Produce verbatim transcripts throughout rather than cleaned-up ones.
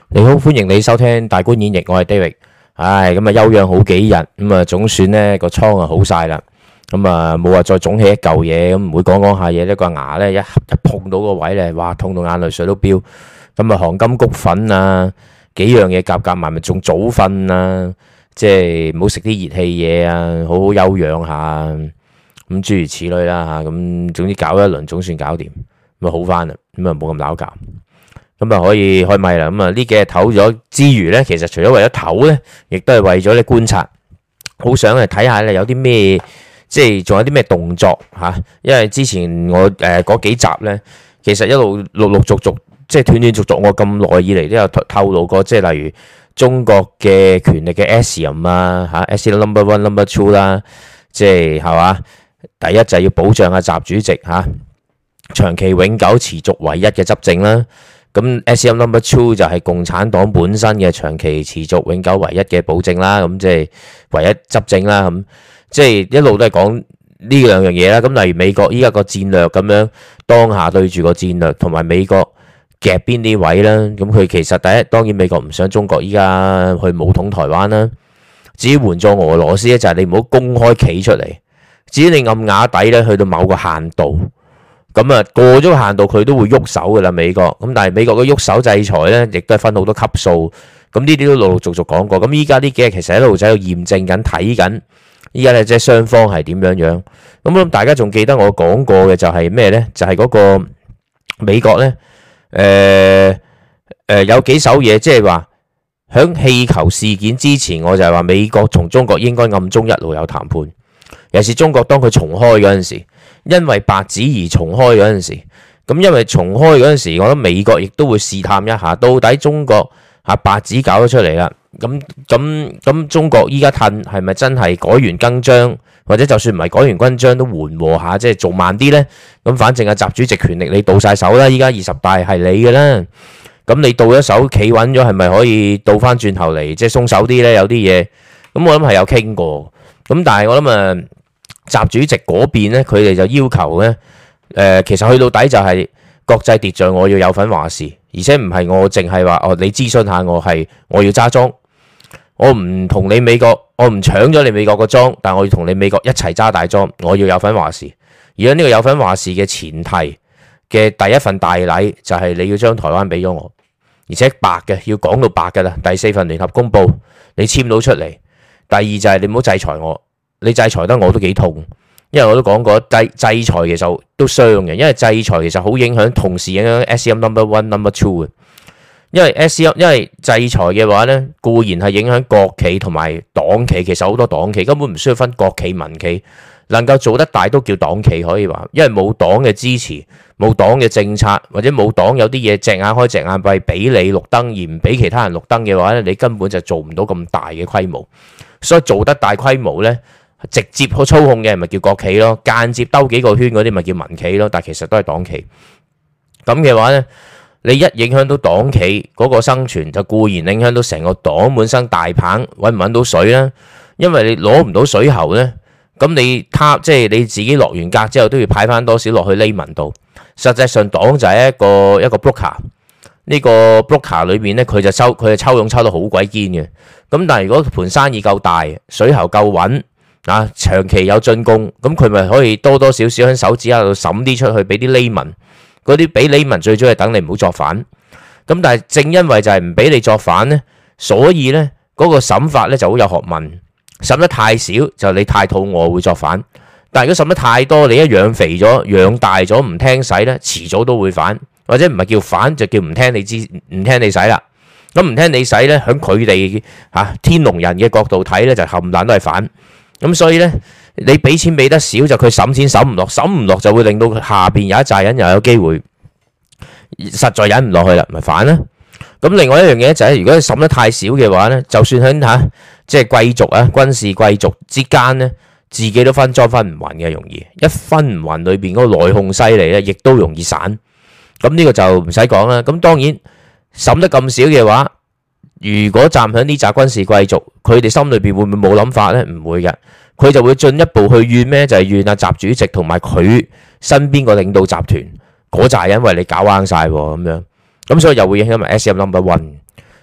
你好，歡迎你收聽大觀演繹，我係 David。唉，咁啊休養好幾日，咁啊總算呢個倉啊好晒啦。咁啊冇話再腫起一嚿嘢，咁唔會講講下嘢，呢個牙呢一一碰到個位呢，哇痛到眼淚水都飆。咁啊黃金菊粉啊，幾樣嘢夾夾埋咪仲早瞓啊，即係唔好食啲熱氣嘢啊，好好休養下，咁諸如此類啦吓。咁總之搞一輪總算搞掂，咁啊好翻啦，咁啊冇咁鬧交。咁啊可以開咪啦，咁啊呢幾日唞咗之餘咧，其實除咗為咗唞咧，亦都係為咗你觀察，好想嚟睇下你有啲咩，即係仲有啲咩動作吓。因為之前我誒嗰幾集咧，其實一路陸陸續續，即係斷斷續續，我咁耐以嚟都有透露過，即係例如中國嘅權力嘅 axiom 啊吓 ，axiom number one number two 啦，即係係嘛，第一就係要保障阿習主席吓長期永久持續唯一嘅執政啦。咁 axiom number two 就係共產黨本身嘅長期持續永久唯一嘅保證啦，咁即係唯一執政啦，咁即係一路都係講呢兩樣嘢啦。咁例如美國依家個戰略咁樣，當下對住個戰略同埋美國夾邊啲位啦，咁佢其實第一當然美國唔想中國依家去武統台灣啦，至於援助俄羅斯咧就係你唔好公開企出嚟，至於你暗啞底咧去到某個限度。咁啊，過咗個限度佢都會喐手噶啦，美國。咁但係美國嘅喐手制裁咧，亦都係分好多級數。咁呢啲都陸陸續續講過。咁依家呢幾日其實一路仔喺度驗證緊、睇緊。依家咧即係雙方係點樣樣。咁我諗大家仲記得我講過嘅就係咩咧？就係嗰個美國咧，誒誒有幾手嘢，即係話響氣球事件之前，我就係話美國同中國應該暗中一路有談判。尤其是中國當佢重開嗰陣時。因為白紙而重開嗰陣時，咁因為重開嗰陣時，我覺得美國亦都會試探一下，到底中國嚇白紙搞咗出嚟啦，咁咁咁中國依家褪係咪真係改弦更張，或者就算唔係改弦更張都緩和下，即係做慢啲呢？咁反正阿習主席權力你到晒手啦，依家二十大係你嘅啦，咁你到咗手企穩咗，係咪可以倒翻轉頭嚟，即係鬆手啲呢？有啲嘢，咁我諗係有傾過，咁但係我諗啊。習主席嗰邊咧，佢哋就要求咧，誒、呃，其實去到底就係國際秩序，我要有份話事，而且唔係我淨係話哦，你諮詢下我係，我要揸莊，我唔同你美國，我唔搶咗你美國個莊，但係我要同你美國一齊揸大莊，我要有份話事。而家呢個有份話事嘅前提嘅第一份大禮就係你要將台灣俾咗我，而且白嘅要講到白㗎啦。第四份聯合公報你簽到出嚟，第二就係你唔好制裁我。你制裁得我都幾痛，因為我都講過制制裁其實都傷嘅，因為制裁其實好影響，同時影響 axiom number one number two 嘅。因為 axiom 因為制裁嘅話咧，固然係影響國企同埋黨企，其實好多黨企根本唔需要分國企民企，能夠做得大都叫黨企可以話，因為冇黨嘅支持，冇黨嘅政策，或者冇黨有啲嘢隻眼開隻眼閉俾你綠燈而唔俾其他人綠燈嘅話咧，你根本就做唔到咁大嘅規模，所以做得大規模咧。直接去操控嘅咪叫國企咯，間接兜幾個圈嗰啲咪叫民企咯，但其實都係黨企。咁嘅話呢，你一影響到黨企嗰個生存，就固然影響到成個黨本身大棒揾唔揾到水啦。因為你攞唔到水喉呢，咁你他即係你自己落完格之後都要派翻多少落去呢民度。實際上黨就係一個一個 broker，呢個 broker 裏面呢，佢就抽佢就抽佣抽到好鬼堅嘅。咁但係如果盤生意夠大，水喉夠穩。啊，長期有進攻，咁佢咪可以多多少少喺手指下度審啲出去，俾啲 layman，嗰啲俾 layman最主要係等你唔好作反。咁但係正因為就係唔俾你作反呢，所以呢嗰個審法呢就好有學問。審得太少就你太肚餓會作反，但係如果審得太多，你一養肥咗、養大咗唔聽使呢，遲早都會反，或者唔係叫反就叫唔聽你知、唔聽你使啦。咁唔聽你使呢，喺佢哋嚇天龍人嘅角度睇呢，就冚唪唥都係反。咁所以咧，你俾錢俾得少就佢審錢審唔落，審唔落就會令到下邊有一紮人又有機會，實在忍唔落去啦，咪反啦。咁另外一樣嘢就係，如果你審得太少嘅話咧，就算喺嚇即係貴族啊、軍事貴族之間咧，自己都分贓分唔勻嘅，容易一分唔勻裏邊嗰個內訌犀利咧，亦都容易散。咁呢個就唔使講啦。咁當然審得咁少嘅話，如果站喺呢紮軍事貴族，佢哋心裏邊會唔會冇諗法呢？唔會嘅，佢就會進一步去怨咩？就係怨阿習主席同埋佢身邊個領導集團嗰扎人為你搞彎晒咁樣，咁所以又會影響埋 axiom number one。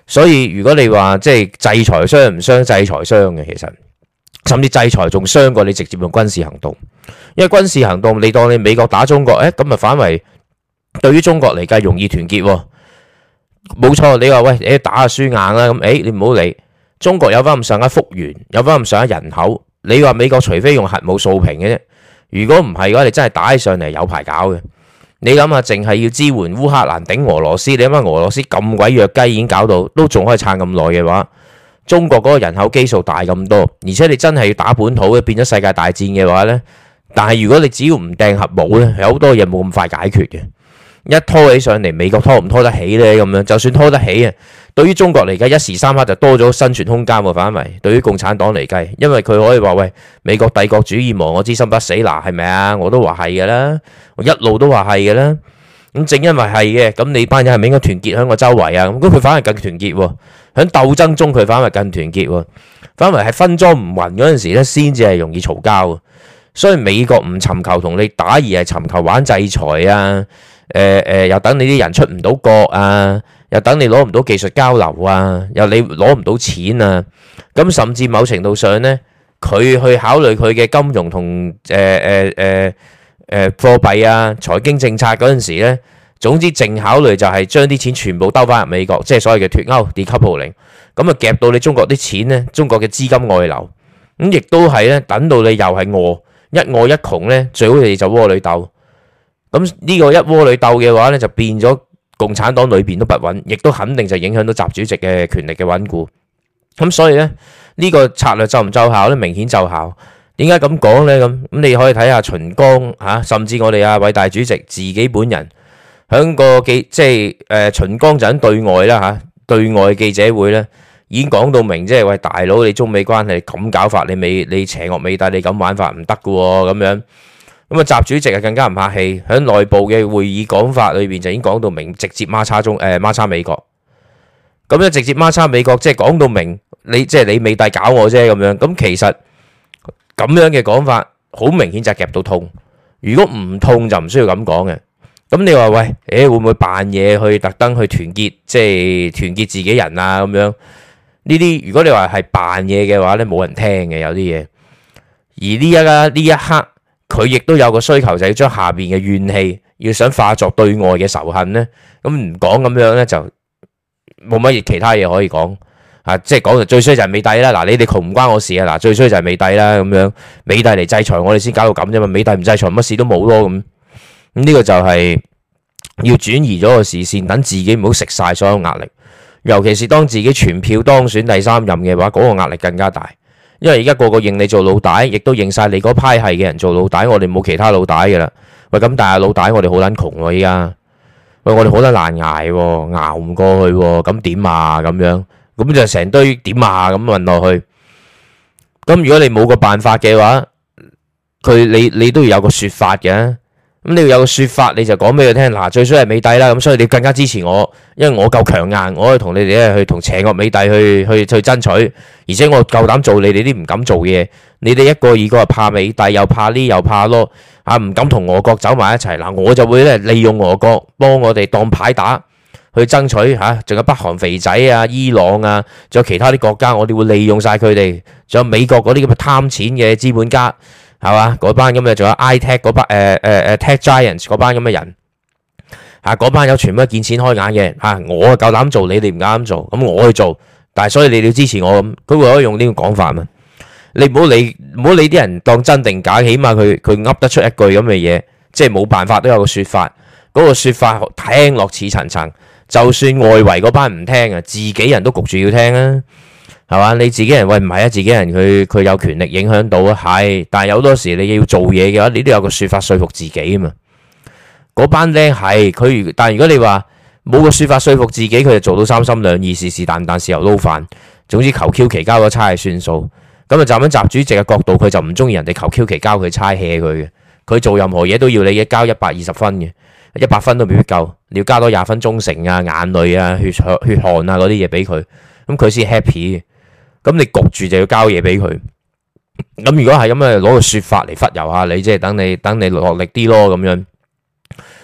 所以如果你話即係制裁傷唔傷，制裁傷嘅，其實甚至制裁仲傷過你直接用軍事行動，因為軍事行動你當你美國打中國，誒咁啊反為對於中國嚟計容易團結喎。冇錯，你話喂，誒打下輸硬啦，咁誒你唔好理，中國有翻咁上下幅員，有翻咁上下人口，你話美國除非用核武掃平嘅啫，如果唔係嘅話，你真係打起上嚟有排搞嘅。你諗下，淨係要支援烏克蘭頂俄羅斯，你諗下俄羅斯咁鬼弱雞已經搞到，都仲可以撐咁耐嘅話，中國嗰個人口基數大咁多，而且你真係要打本土嘅，變咗世界大戰嘅話呢。但係如果你只要唔掟核武呢，有好多嘢冇咁快解決嘅。一拖起上嚟，美國拖唔拖得起呢？咁樣就算拖得起啊，對於中國嚟計，一時三刻就多咗生存空間喎。反為對於共產黨嚟計，因為佢可以話喂，美國帝國主義亡我之心不死嗱，係咪啊？我都話係嘅啦，我一路都話係嘅啦。咁正因為係嘅，咁你班人係咪應該團結喺我周圍啊？咁佢反而更團結喎，喺鬥爭中佢反而更團結喎，反為係分贓唔勻嗰陣時咧，先至係容易嘈交。所以美國唔尋求同你打，而係尋求玩制裁啊。誒誒、呃，又等你啲人出唔到國啊，又等你攞唔到技術交流啊，又你攞唔到錢啊，咁甚至某程度上呢，佢去考慮佢嘅金融同誒誒誒誒貨幣啊、財經政策嗰陣時咧，總之淨考慮就係將啲錢全部兜翻入美國，即係所謂嘅脫歐 decoupling，咁啊夾到你中國啲錢呢，中國嘅資金外流，咁亦都係咧，等到你又係餓一餓一窮呢，最好你就窩裏鬥。咁呢個一窩裏鬥嘅話咧，就變咗共產黨裏邊都不穩，亦都肯定就影響到習主席嘅權力嘅穩固。咁所以咧，呢個策略奏唔奏效咧？明顯奏效。點解咁講咧？咁咁你可以睇下秦剛嚇，甚至我哋啊偉大主席自己本人響個記，即係誒秦剛就喺對外啦嚇，對外記者會咧已經講到明，即係喂大佬，你中美關係咁搞法，你美你邪惡美帝，你咁玩法唔得㗎喎，咁樣。咁啊，習主席啊更加唔客氣，喺內部嘅會議講法裏邊就已經講到明，直接孖叉中誒孖叉美國。咁咧直接孖叉美國，即係講到明，你即係你美帝搞我啫咁樣。咁其實咁樣嘅講法，好明顯就係夾到痛。如果唔痛就唔需要咁講嘅。咁你話喂，誒會唔會扮嘢去特登去團結，即係團結自己人啊咁樣？呢啲如果你話係扮嘢嘅話咧，冇人聽嘅有啲嘢。而呢一家呢一刻。佢亦都有個需求，就要將下邊嘅怨氣，要想化作對外嘅仇恨咧。咁唔講咁樣咧，就冇乜其他嘢可以講啊！即係講就最衰就係美帝啦。嗱，你哋窮唔關我事啊！嗱，最衰就係美帝啦。咁樣美帝嚟制裁我哋先搞到咁啫嘛。美帝唔制裁，乜事都冇咯。咁咁呢個就係要轉移咗個視線，等自己唔好食晒所有壓力。尤其是當自己全票當選第三任嘅話，嗰個壓力更加大。因為而家個個認你做老大，亦都認晒你嗰派系嘅人做老大，我哋冇其他老大嘅啦。喂，咁但係老大我哋好撚窮喎，依家喂我哋好撚難捱喎，熬唔過去喎，咁點啊咁樣？咁就成堆點啊咁問落去。咁如果你冇個辦法嘅話，佢你你都要有個説法嘅。咁你要有個説法，你就講俾佢聽。嗱，最衰係美帝啦，咁所以你更加支持我，因為我夠強硬，我可以同你哋咧去同邪惡美帝去去去爭取，而且我夠膽做你哋啲唔敢做嘢。你哋一個二個係怕美帝，又怕呢又怕咯，啊唔敢同俄國走埋一齊。嗱，我就會咧利用俄國幫我哋當牌打去爭取嚇，仲有北韓肥仔啊、伊朗啊，仲有其他啲國家，我哋會利用晒佢哋，仲有美國嗰啲咁嘅貪錢嘅資本家。係嘛？嗰班咁嘅，仲有 iTech 嗰班誒誒誒 Tech Giants 嗰班咁嘅人嚇，嗰班有全部都見錢開眼嘅嚇。我啊夠膽做，你哋唔夠膽做，咁我去做。但係所以你哋要支持我咁，佢會可以用呢個講法嘛？你唔好理唔好理啲人當真定假，起碼佢佢噏得出一句咁嘅嘢，即係冇辦法都有個説法。嗰個説法聽落似層層，就算外圍嗰班唔聽啊，自己人都焗住要聽啊。係嘛？你自己人喂唔係啊？自己人佢佢有權力影響到啊，係。但係有好多時你要做嘢嘅話，你都有個説法說服自己啊嘛。嗰班僆係佢，但係如果你話冇個説法說服自己，佢就做到三心兩意，是是但但，豉油撈飯。總之求 Q 其交個差係算數。咁啊，站喺習主席嘅角度，佢就唔中意人哋求 Q 其交佢差 hea 佢嘅。佢做任何嘢都要你交一百二十分嘅，一百分都未必夠，你要加多廿分忠誠啊、眼淚啊、血血血汗啊嗰啲嘢俾佢，咁佢先 happy 嘅。咁你焗住就要交嘢俾佢，咁如果係咁啊，攞個説法嚟忽悠下你，即係等你等你落力啲咯咁樣。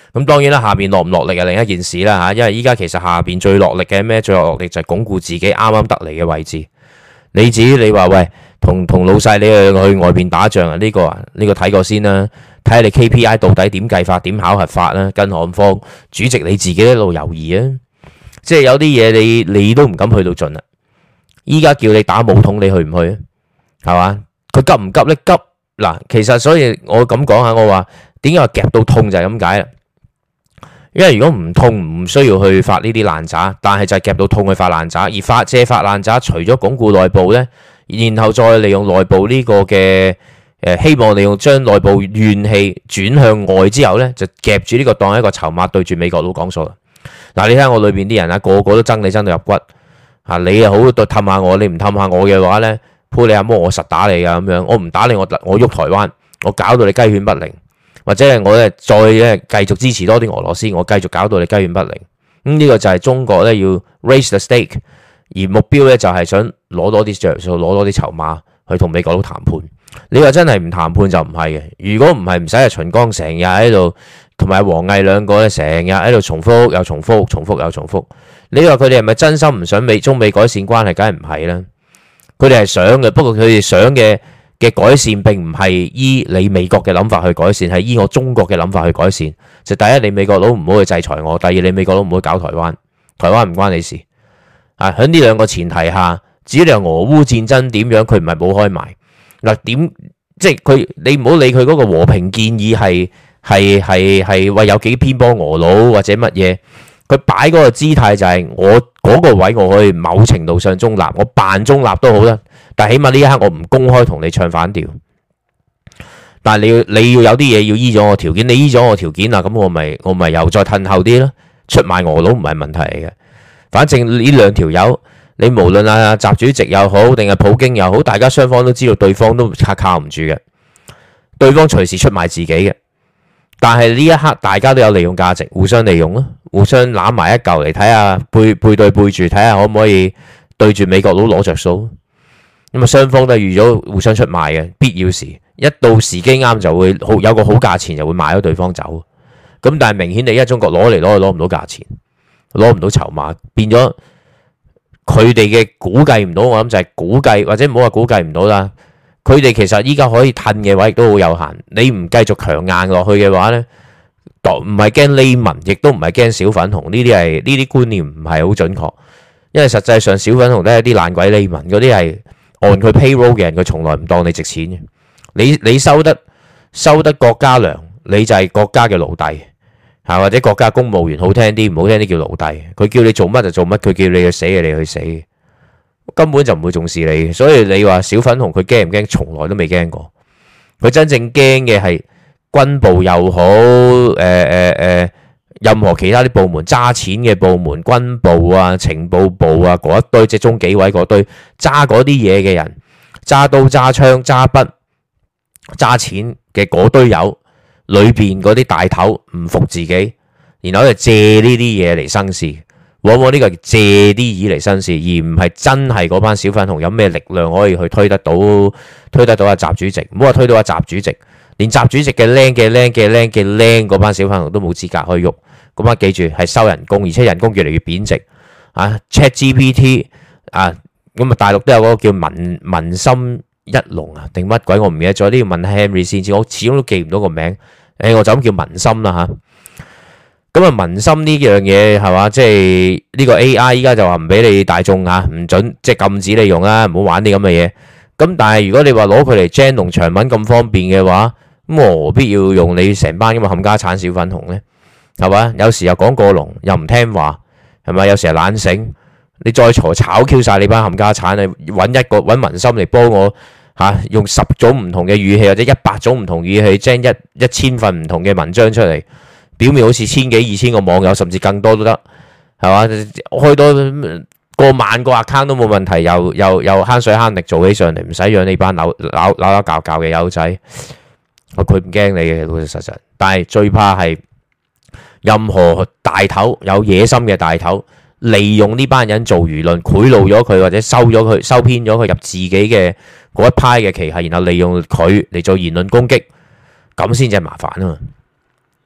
咁當然啦，下邊落唔落力係另一件事啦嚇，因為依家其實下邊最落力嘅咩？最落力就係鞏固自己啱啱得嚟嘅位置。你至於你話喂，同同老細你去去外邊打仗啊？呢個啊呢個睇過先啦，睇下你 K P I 到底點計法、點考核法啦。更何況主席你自己一路猶豫啊，即係有啲嘢你你都唔敢去到盡啦。依家叫你打武統，你去唔去啊？係嘛？佢急唔急咧？急嗱，其實所以我咁講下，我話點解話夾到痛就係咁解啦。因為如果唔痛唔需要去發呢啲爛渣，但係就係夾到痛去發爛渣，而發借發爛渣，除咗鞏固內部呢，然後再利用內部呢個嘅誒，希望利用將內部怨氣轉向外之後呢，就夾住呢個當一個籌碼對住美國佬講數啦。嗱，你睇下我裏邊啲人啊，個個都憎你憎到入骨啊！你又好對氹下我，你唔氹下我嘅話呢，鋪你阿媽我實打你噶咁樣，我唔打你我我喐台灣，我搞到你雞犬不寧。或者係我咧再咧繼續支持多啲俄羅斯，我繼續搞到你雞犬不寧。咁、嗯、呢、這個就係中國咧要 raise the stake，而目標咧就係想攞多啲著數，攞多啲籌碼去同美國佬談判。你話真係唔談判就唔係嘅。如果唔係唔使係秦剛成日喺度，同埋王毅兩個咧成日喺度重複又重複，重複又重複。你話佢哋係咪真心唔想美中美改善關係？梗係唔係啦。佢哋係想嘅，不過佢哋想嘅。嘅改善並唔係依你美國嘅諗法去改善，係依我中國嘅諗法去改善。就第一，你美國佬唔好去制裁我；第二，你美國佬唔好搞台灣，台灣唔關你事。啊，喺呢兩個前提下，至於你話俄烏戰爭點樣，佢唔係冇開埋嗱點，即係佢你唔好理佢嗰個和平建議係係係係話有幾偏幫俄佬或者乜嘢，佢擺嗰個姿態就係我嗰個位我可以某程度上中立，我扮中立都好啦。但起碼呢一刻我唔公開同你唱反調，但係你要你要有啲嘢要依咗我條件，你依咗我條件啦，咁我咪我咪又再褪後啲咯。出賣俄佬唔係問題嚟嘅，反正呢兩條友，你無論阿習主席又好，定係普京又好，大家雙方都知道對方都靠靠唔住嘅，對方隨時出賣自己嘅。但係呢一刻大家都有利用價值，互相利用咯，互相攬埋一嚿嚟睇下背背對背住睇下可唔可以對住美國佬攞着數。咁啊，雙方都係預咗互相出賣嘅，必要時一到時機啱就會好有個好價錢，就會賣咗對方走。咁但係明顯地，而家中國攞嚟攞去攞唔到價錢，攞唔到籌碼，變咗佢哋嘅估計唔到。我諗就係估計，或者唔好話估計唔到啦。佢哋其實依家可以褪嘅位亦都好有限。你唔繼續強硬落去嘅話咧，唔係驚黎民，亦都唔係驚小粉紅。呢啲係呢啲觀念唔係好準確，因為實際上小粉紅都係啲爛鬼黎民，嗰啲係。按佢 payroll 嘅人，佢從來唔當你值錢嘅。你你收得收得國家糧，你就係國家嘅奴隸嚇，或者國家公務員好聽啲，唔好聽啲叫奴隸。佢叫你做乜就做乜，佢叫你去死嘅你去死，根本就唔會重視你。所以你話小粉紅佢驚唔驚？從來都未驚過。佢真正驚嘅係軍部又好，誒誒誒。任何其他啲部門揸錢嘅部門，軍部啊、情報部啊嗰一堆，即係中紀委嗰堆揸嗰啲嘢嘅人，揸刀揸槍揸筆揸錢嘅嗰堆友，裏邊嗰啲大頭唔服自己，然後就借呢啲嘢嚟生事，往往呢個借啲嘢嚟生事，而唔係真係嗰班小粉紅有咩力量可以去推得到推得到阿習主席，唔好話推到阿習主席，連習主席嘅靚嘅靚嘅靚嘅靚嗰班小粉紅都冇資格可以喐。咁啊，記住係收人工，而且人工越嚟越貶值啊 ！ChatGPT 啊，咁啊，大陸都有嗰個叫文文心一龍啊，定乜鬼我唔記得咗，都要問 Henry 先知，我始終都記唔到個名。誒，我就咁叫文心啦嚇。咁啊，文心呢樣嘢係嘛？即係呢個 A I 依家就話唔俾你大眾嚇，唔準即係禁止你用啦，唔好玩啲咁嘅嘢。咁但係如果你話攞佢嚟 gen 龍長文咁方便嘅話，咁何必要用你成班咁嘅冚家產小粉紅咧？係嘛？有時又講過龍，又唔聽話，係咪？有時係懶醒，你再嘈炒 Q 晒你班冚家產，你揾一個揾文心嚟幫我嚇、啊，用十種唔同嘅語氣或者一百種唔同語氣，將一一千份唔同嘅文章出嚟，表面好似千幾二千個網友，甚至更多都得，係嘛？開多過萬個 account 都冇問題，又又又慳水慳力做起上嚟，唔使養你班扭扭扭扭教教嘅友仔，佢唔驚你嘅老老實實，但係最怕係。任何大頭有野心嘅大頭，利用呢班人做輿論，賄賂咗佢或者收咗佢、收編咗佢入自己嘅嗰一派嘅旗下，然後利用佢嚟做言論攻擊，咁先至係麻煩啊嘛。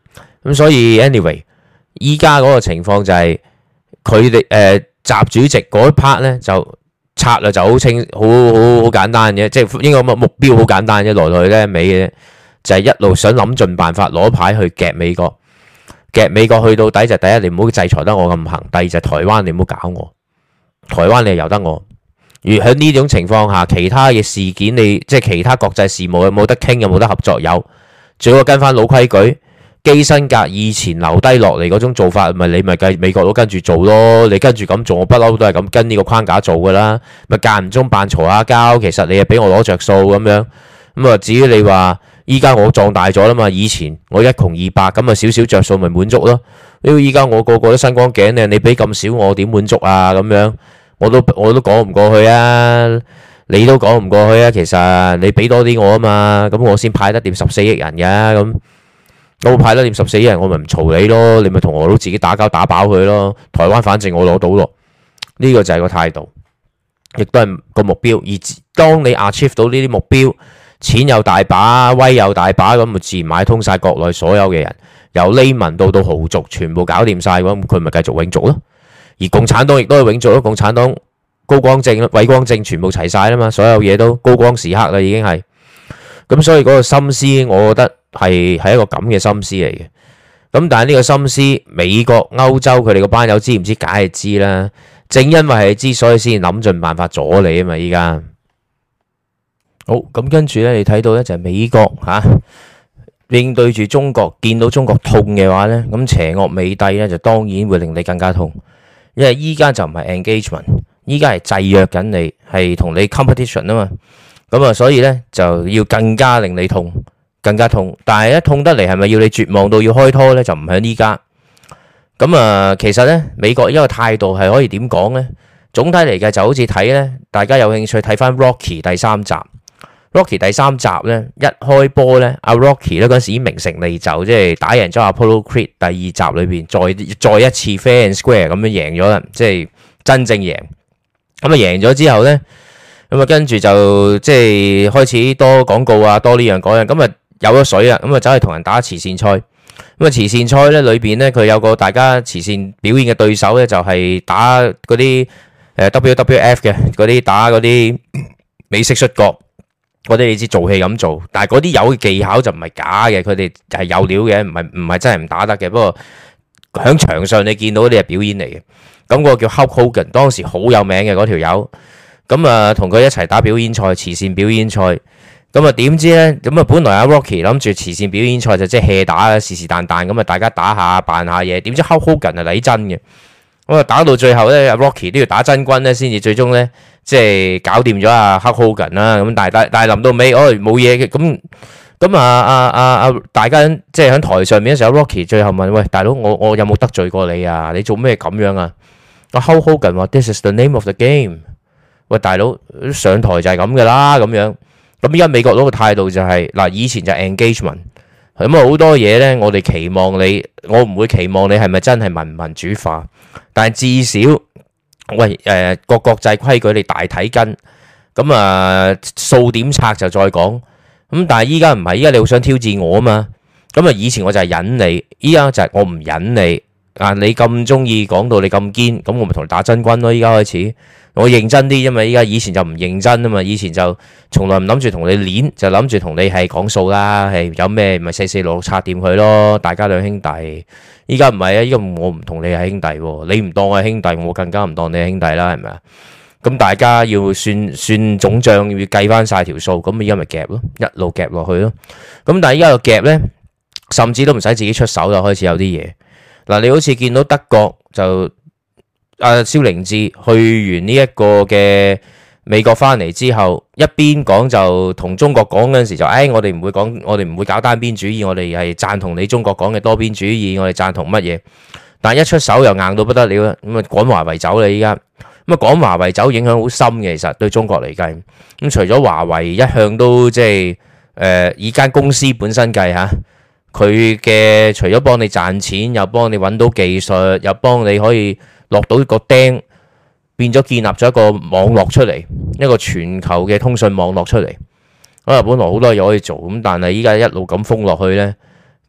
咁所以 anyway，依家嗰個情況就係佢哋誒習主席嗰一 part 咧就策略就好清好好好簡單嘅，即係應該目目標好簡單啫，來來咧尾嘅就係一路想諗盡辦法攞牌去夾美國，夾美國去到底就第一你唔好制裁得我咁行，第二就係台灣你唔好搞我，台灣你又由得我。而喺呢種情況下，其他嘅事件你即係其他國際事務有冇得傾，有冇得合作？有，最好跟翻老規矩，基辛格以前留低落嚟嗰種做法，咪你咪計美國都跟住做咯。你跟住咁做，我不嬲都係咁跟呢個框架做噶啦。咪間唔中扮嘈下交，其實你係俾我攞着數咁樣。咁啊，至於你話依家我壯大咗啦嘛，以前我一窮二白咁啊，少少着數咪滿足咯。因為依家我個個都身光頸靚，你俾咁少我點滿足啊？咁樣。我都我都講唔過去啊，你都講唔過去啊。其實你俾多啲我啊嘛，咁我先派得掂十四億人嘅咁，我派得掂十四億人，我咪唔嘈你咯。你咪同俄佬自己打交打飽佢咯。台灣反正我攞到咯，呢個就係個態度，亦都係個目標。而當你 achieve 到呢啲目標，錢又大把，威又大把，咁咪自然買通晒國內所有嘅人，由黎民到到豪族，全部搞掂晒嘅話，咁佢咪繼續永續咯。而共產黨亦都係永續咯，共產黨高光正、偉光正全部齊晒啦嘛，所有嘢都高光時刻啦，已經係咁，所以嗰個心思，我覺得係係一個咁嘅心思嚟嘅。咁但係呢個心思，美國、歐洲佢哋個班友知唔知？梗係知啦。正因為係知，所以先諗盡辦法阻你啊嘛。依家好咁，跟住咧，你睇到咧就係美國吓、啊、應對住中國，見到中國痛嘅話咧，咁邪惡美帝咧就當然會令你更加痛。因為依家就唔係 engagement， 依家係制約緊你，係同你 competition 啊嘛，咁啊，所以咧就要更加令你痛，更加痛。但係一痛得嚟，係咪要你絕望到要開拖咧？就唔喺依家。咁啊，其實咧美國依個態度係可以點講咧？總體嚟嘅就好似睇咧，大家有興趣睇翻 Rocky 第三集。Rocky 第三集咧一開波咧，阿 Rocky 咧嗰陣時已經名成利就，即係打贏咗 Apollo Creed 第二集裏邊，再再一次 fair and square 咁樣贏咗啦，即係真正贏。咁啊贏咗之後咧，咁啊跟住就即係開始多廣告啊，多呢樣嗰樣，咁啊有咗水啊，咁啊走去同人打慈善賽。咁啊慈善賽咧裏邊咧，佢有個大家慈善表演嘅對手咧，就係打嗰啲誒 W W F 嘅嗰啲打嗰啲美式摔角。嗰啲你知做戲咁做，但係嗰啲有技巧就唔係假嘅，佢哋係有料嘅，唔係唔係真係唔打得嘅。不過喺場上你見到嗰啲係表演嚟嘅。咁嗰個叫 Hulk Hogan，當時好有名嘅嗰條友。咁啊，同佢一齊打表演賽，慈善表演賽。咁啊，點知咧？咁啊，本來阿 Rocky 諗住慈善表演賽就即係 hea 打，是是但但咁啊，大家打下扮下嘢。點知 Hulk Hogan 係嚟真嘅。咁啊，打到最後咧，阿 Rocky 都要打真軍咧，先至最終咧。即係搞掂咗阿黑 Hogan 啦，咁但係但係臨到尾，哦冇嘢嘅，咁咁啊啊啊啊！大家即係喺台上面嘅時候 ，Rocky 最後問：喂，大佬，我我有冇得罪過你啊？你做咩咁樣啊？阿黑 Hogan 話 ：This is the name of the game。喂，大佬上台就係咁噶啦，咁樣。咁依家美國嗰個態度就係嗱，以前就 engagement，咁啊好多嘢咧，我哋期望你，我唔會期望你係咪真係民民主化，但係至少。喂，誒個國際規矩你大體跟，咁啊數點拆就再講，咁但係依家唔係，依家你好想挑戰我啊嘛，咁啊以前我就係忍你，依家就係我唔忍你，啊你咁中意講到你咁堅，咁我咪同你打真軍咯，依家開始，我認真啲，因為依家以前就唔認真啊嘛，以前就從來唔諗住同你練，就諗住同你係講數啦，係有咩咪四四六六拆掂佢咯，大家兩兄弟。依家唔係啊！依家我唔同你係兄弟喎，你唔當我係兄弟，我更加唔當你係兄弟啦，係咪啊？咁大家要算算總賬，要計翻晒條數，咁依家咪夾咯，一路夾落去咯。咁但係依家個夾咧，甚至都唔使自己出手就開始有啲嘢。嗱，你好似見到德國就阿蕭凌志去完呢一個嘅美國翻嚟之後，一邊講就同中國講嗰陣時就，誒我哋唔會講，我哋唔會搞單邊主義，我哋係贊同你中國講嘅多邊主義，我哋贊同乜嘢？但一出手又硬到不得了啦，咁啊趕華為走啦依家，咁啊趕華為走影響好深嘅，其實對中國嚟計，咁除咗華為一向都即係誒以間公司本身計嚇，佢嘅除咗幫你賺錢，又幫你揾到技術，又幫你可以落到個釘。變咗建立咗一個網絡出嚟，一個全球嘅通訊網絡出嚟。啊，本來好多嘢可以做，咁但係依家一路咁封落去呢，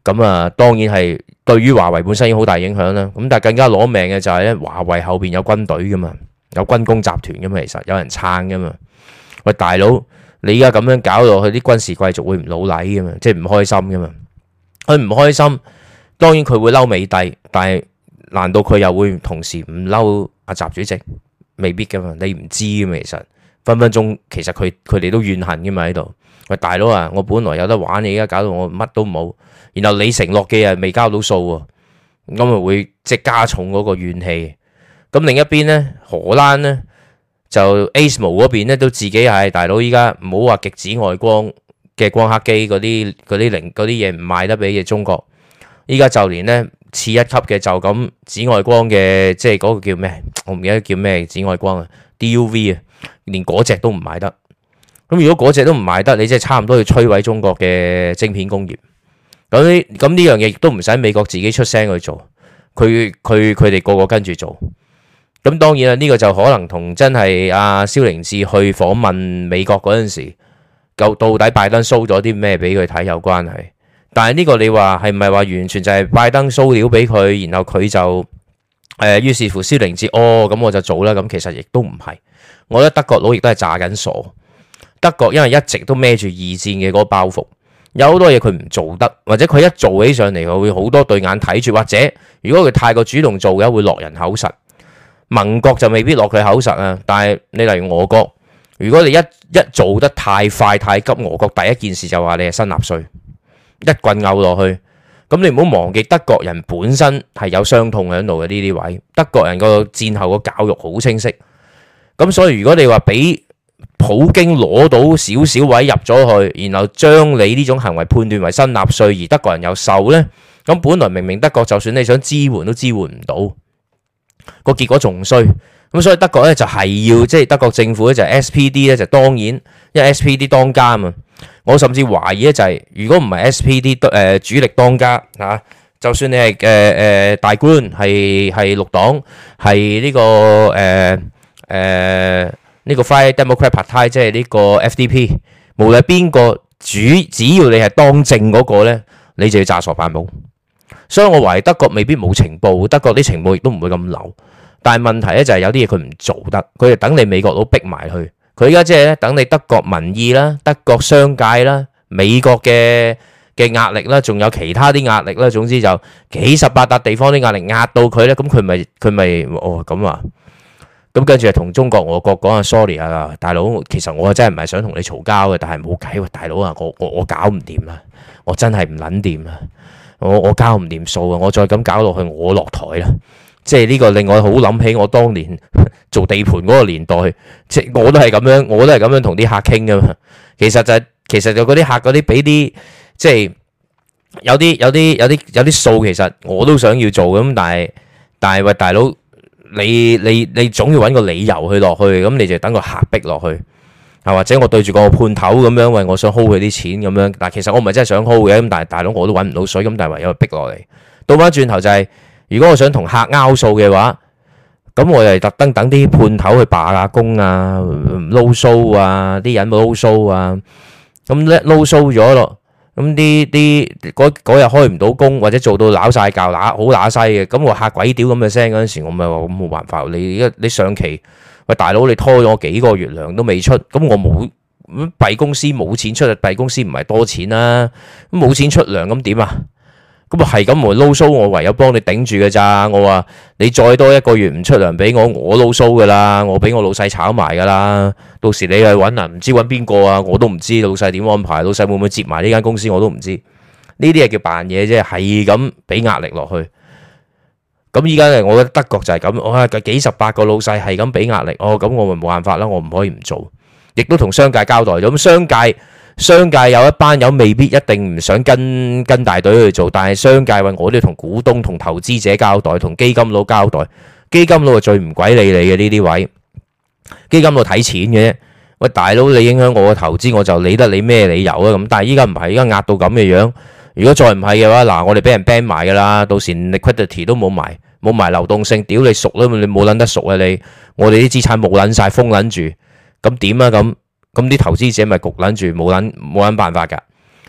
咁啊，當然係對於華為本身已經好大影響啦。咁但係更加攞命嘅就係咧，華為後邊有軍隊噶嘛，有軍工集團噶嘛，其實有人撐噶嘛。喂，大佬，你而家咁樣搞落去，啲軍事貴族會唔老禮噶嘛？即係唔開心噶嘛？佢唔開心，當然佢會嬲美帝，但係難道佢又會同時唔嬲阿習主席？未必噶嘛，你唔知噶嘛。其實分分鐘，其實佢佢哋都怨恨噶嘛喺度。喂，大佬啊，我本來有得玩，你而家搞到我乜都冇。然後你承諾嘅嘢未交到數喎，咁咪會即係加重嗰個怨氣。咁另一邊咧，荷蘭咧就 A S M O 嗰邊咧都自己係大佬，依家唔好話極紫外光嘅光刻機嗰啲嗰啲零嗰啲嘢唔賣得俾嘅中國，依家就連咧次一級嘅就咁紫外光嘅，即係嗰個叫咩？我唔記得叫咩紫外光啊 ，D U V 啊，連嗰隻都唔賣得。咁如果嗰隻都唔賣得，你即係差唔多要摧毀中國嘅晶片工業。咁呢咁呢樣嘢亦都唔使美國自己出聲去做，佢佢佢哋個個跟住做。咁當然啦，呢個就可能同真係阿蕭凌志去訪問美國嗰陣時，究到底拜登 show 咗啲咩俾佢睇有關係。但係呢個你話係唔係話完全就係拜登 show 料俾佢，然後佢就誒於是乎蕭凌志哦咁我就做啦。咁其實亦都唔係，我覺得德國佬亦都係詐緊傻。德國因為一直都孭住二戰嘅嗰個包袱。有好多嘢佢唔做得，或者佢一做起上嚟，佢會好多對眼睇住，或者如果佢太過主動做嘅，會落人口實。盟國就未必落佢口實啊，但係你例如俄國，如果你一一做得太快太急，俄國第一件事就話你係新納粹，一棍拗落去。咁你唔好忘記德國人本身係有傷痛喺度嘅呢啲位，德國人個戰後個教育好清晰。咁所以如果你話俾普京攞到少少位入咗去，然後將你呢種行為判斷為新納粹，而德國人又受呢，咁本來明明德國就算你想支援都支援唔到，個結果仲衰。咁所以德國咧就係要即係德國政府咧就 S P D 咧就當然，因為 S P D 當家啊嘛。我甚至懷疑咧就係如果唔係 S P D 誒主力當家嚇，就算你係誒誒大官係係綠黨係呢個誒誒。呢個 Free Democrat Party 即係呢個 F D P， 無論邊個主，只要你係當政嗰個咧，你就要詐傻扮懵。所以我懷疑德國未必冇情報，德國啲情報亦都唔會咁流。但係問題咧就係有啲嘢佢唔做得，佢就等你美國佬逼埋去。佢而家即係咧等你德國民意啦、德國商界啦、美國嘅嘅壓力啦，仲有其他啲壓力啦。總之就幾十八笪地方啲壓力壓到佢咧，咁佢咪佢咪哦咁啊？咁跟住係同中國、俄國講啊 sorry 啊，大佬，其實我真係唔係想同你嘈交嘅，但係冇計喎，大佬啊，我我我搞唔掂啦，我真係唔撚掂啦，我我交唔掂數啊，我再咁搞落去，我落台啦。即係呢個令我好諗起我當年做地盤嗰個年代，即係我都係咁樣，我都係咁樣同啲客傾噶嘛。其實就係、其實就嗰啲客嗰啲俾啲，即係有啲有啲有啲有啲數，其實我都想要做咁，但係但係喂，大佬。你你你總要揾個理由去落去，咁你就等個客逼落去，啊或者我對住個判頭咁樣，喂，我想 hold 佢啲錢咁樣，但其實我唔係真係想 hold 嘅，咁但係大佬我都揾唔到水，咁但係唯有逼落嚟。倒翻轉頭就係、是，如果我想同客拗數嘅話，咁我就特登等啲判頭去罷下工啊，撈蘇啊，啲人冇撈蘇啊，咁咧撈蘇咗咯。咁啲啲嗰日開唔到工，或者做到揦晒教揦好揦西嘅，咁我嚇鬼屌咁嘅聲嗰陣時，我咪話咁冇辦法。你而家你上期喂大佬，你拖咗我幾個月糧都未出，咁我冇弊公司冇錢出，弊公司唔係多錢啦，咁冇錢出糧咁點啊？咁啊係咁我撈蘇，我唯有幫你頂住嘅咋。我話你再多一個月唔出糧俾我，我撈蘇噶啦，我俾我老細炒埋噶啦。到時你去揾啊，唔知揾邊個啊，我都唔知老細點安排，老細會唔會接埋呢間公司我都唔知。呢啲係叫扮嘢啫，係咁俾壓力落去。咁依家咧，我覺得德國就係咁，哇，幾十八個老細係咁俾壓力，哦，咁我咪冇辦法啦，我唔可以唔做，亦都同商界交代咗。咁商界。商界有一班友未必一定唔想跟跟大隊去做，但係商界話我都要同股東、同投資者交代，同基金佬交代。基金佬係最唔鬼理你嘅呢啲位，基金佬睇錢嘅啫。喂，大佬你影響我嘅投資，我就理得你咩理由啊？咁但係依家唔係，依家壓到咁嘅樣。如果再唔係嘅話，嗱，我哋俾人 ban 埋噶啦，到時 liquidity 都冇埋，冇埋流動性，屌你熟啦，你冇撚得熟啊你。我哋啲資產冇撚晒，封撚住，咁點啊咁？咁啲投資者咪焗撚住，冇撚冇撚辦法㗎。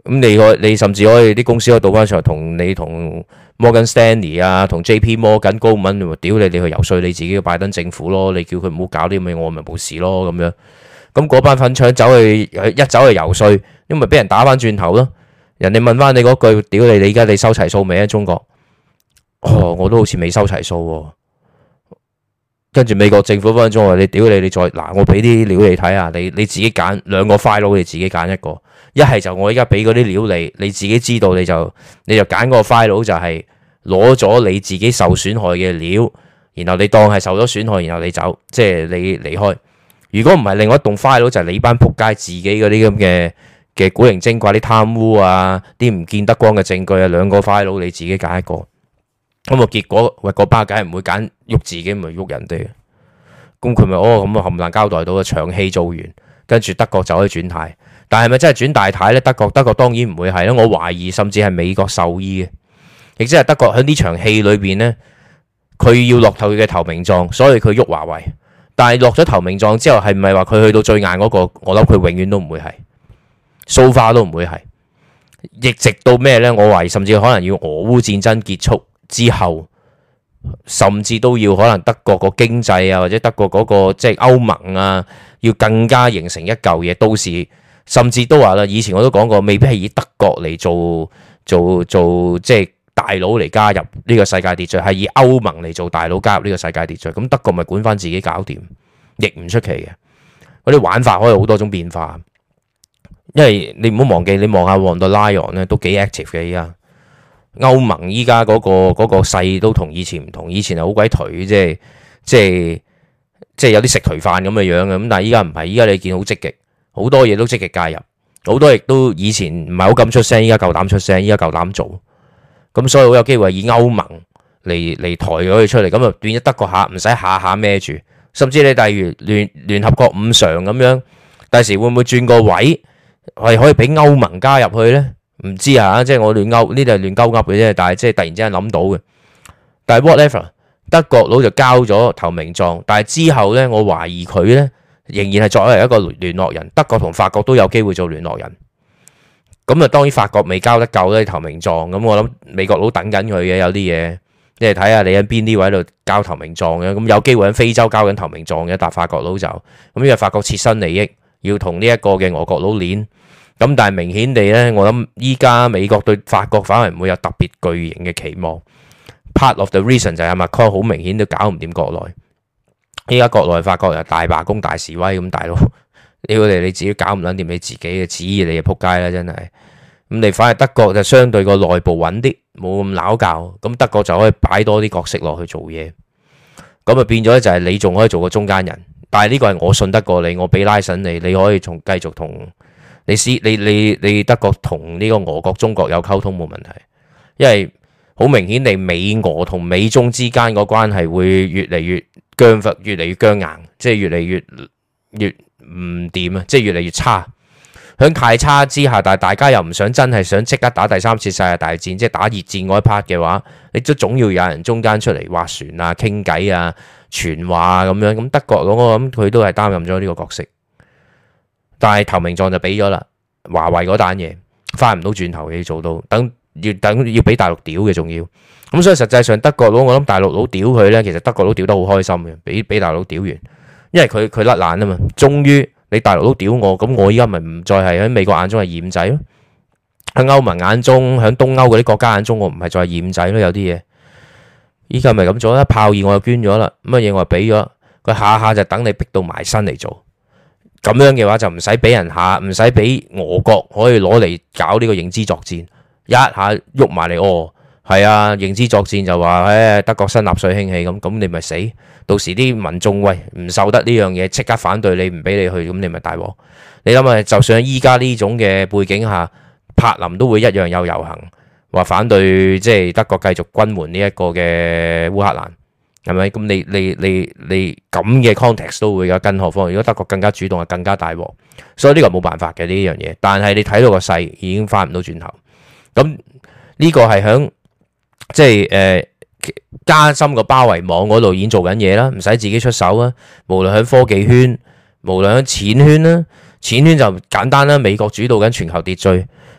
咁你可你甚至可以啲公司可以倒翻上嚟同你同 Morgan Stanley 啊，同 J P Morgan 高文，屌你你去游說你自己嘅拜登政府咯，你叫佢唔好搞啲咁嘅，我咪冇事咯咁樣。咁嗰班粉腸走去一走去游說，因為俾人打翻轉頭咯。人哋問翻你嗰句，屌你你而家你收齊數未啊？中國，哦，我都好似未收齊數喎。跟住美國政府分分鐘話你屌你你再嗱，我俾啲料你睇下，你你自己揀兩個 file，你自己揀一個。一係就我而家俾嗰啲料你，你自己知道你就你就揀個 file 就係攞咗你自己受損害嘅料，然後你當係受咗損害，然後你走，即係你離開。如果唔係另外一棟 file 就係你班仆街自己嗰啲咁嘅嘅古靈精怪啲貪污啊，啲唔見得光嘅證據啊，兩個 file 你自己揀一個。咁啊結果喂，嗰班梗係唔會揀喐自己，唔係喐人哋。咁佢咪哦咁啊冚唪唥交代到啊，場戲做完，跟住德國就可以轉軚。但係咪真係轉大軚咧？德國德國當然唔會係啦，我懷疑甚至係美國授意嘅，亦即係德國喺呢場戲裏邊呢，佢要落頭嘅投名狀，所以佢喐華為。但係落咗投名狀之後，係唔係話佢去到最硬嗰個？我諗佢永遠都唔會係，so far都唔會係，亦直到咩呢？我懷疑甚至可能要俄烏戰爭結束之後，甚至都要可能德國個經濟啊，或者德國嗰個即係歐盟啊，要更加形成一嚿嘢。到時甚至都話啦，以前我都講過，未必係以德國嚟做做做即係大佬嚟加入呢個世界秩序，係以歐盟嚟做大佬加入呢個世界秩序。咁德國咪管翻自己搞掂，亦唔出奇嘅。嗰啲玩法可以好多種變化，因為你唔好忘記，你望下旺德萊昂咧都幾 active 嘅。依家歐盟依家嗰個嗰個勢都同以前唔同，以前係好鬼頹，即係即係即係有啲食頹飯咁嘅樣嘅。咁但係依家唔係，依家你見好積極，好多嘢都積極介入，好多亦都以前唔係好敢出聲，依家夠膽出聲，依家夠膽做。咁所以好有機會以歐盟嚟嚟抬咗佢出嚟，咁就變咗德國下唔使下下孭住，甚至你例如聯聯合國五常咁樣，第時會唔會轉個位係可以俾歐盟加入去呢？唔知啊，即係我亂勾呢度係亂鳩噏嘅啫，但係即係突然之間諗到嘅。但係 whatever，德國佬就交咗投名狀，但係之後呢，我懷疑佢呢仍然係作為一個聯絡人，德國同法國都有機會做聯絡人。咁啊，當然法國未交得夠咧投名狀，咁我諗美國佬等緊佢嘅，有啲嘢，即係睇下你喺邊啲位度交投名狀嘅。咁有機會喺非洲交緊投名狀嘅，但法國佬就咁，因為法國切身利益要同呢一個嘅俄國佬鏈。咁但係明顯地咧，我諗依家美國對法國反而唔會有特別巨型嘅期望。Part of the reason 就係 Macron 好明顯都搞唔掂國內。依家國內法國又大罷工、大示威咁，大佬屌你你自己搞唔撚掂你自己嘅旨意，你就撲街啦，真係。咁你反而德國就相對個內部穩啲，冇咁鬧交。咁德國就可以擺多啲角色落去做嘢。咁啊變咗就係你仲可以做個中間人。但係呢個係我信得過你，我俾拉神你，你可以從繼續同。你試你你你德國同呢個俄國中國有溝通冇問題，因為好明顯地美俄同美中之間個關係會越嚟越僵化，越嚟越僵硬，即係越嚟越越唔掂啊！即係越嚟越差。喺太差之下，但係大家又唔想真係想即刻打第三次世界大戰，即係打熱戰嗰一 part 嘅話，你都總要有人中間出嚟劃船啊、傾偈啊、傳話啊咁樣。咁德國嗰個我諗佢都係擔任咗呢個角色。但係投名狀就俾咗啦，華為嗰單嘢翻唔到轉頭嘅，要做到等要等要俾大陸屌嘅，仲要咁，所以實際上德國佬我諗大陸佬屌佢呢，其實德國佬屌得好開心嘅，俾俾大陸佬屌完，因為佢佢甩爛啊嘛，終於你大陸佬屌我，咁我依家咪唔再係喺美國眼中係嫌仔咯，喺歐盟眼中，喺東歐嗰啲國家眼中，我唔係再係嫌仔咯，有啲嘢依家咪咁做啦，炮二我又捐咗啦，乜嘢我又俾咗，佢下下就等你逼到埋身嚟做。咁樣嘅話就唔使俾人下，唔使俾俄國可以攞嚟搞呢個認知作戰，一下喐埋嚟哦，係啊，認知作戰就話誒德國新納粹興起咁，咁你咪死，到時啲民眾喂唔受得呢樣嘢，即刻反對你，唔俾你去，咁你咪大鑊。你諗下，就算喺依家呢種嘅背景下，柏林都會一樣有遊行，話反對即係德國繼續軍援呢一個嘅烏克蘭。係咪？咁你你你你咁嘅 context 都會有，更何況如果德國更加主動，係更加大鑊。所以呢個冇辦法嘅呢樣嘢。但係你睇到個勢已經翻唔到轉頭。咁呢個係響即係誒加深個包圍網嗰度已經做緊嘢啦，唔使自己出手啊。無論喺科技圈，無論喺錢圈啦，錢圈就簡單啦。美國主導緊全球秩序，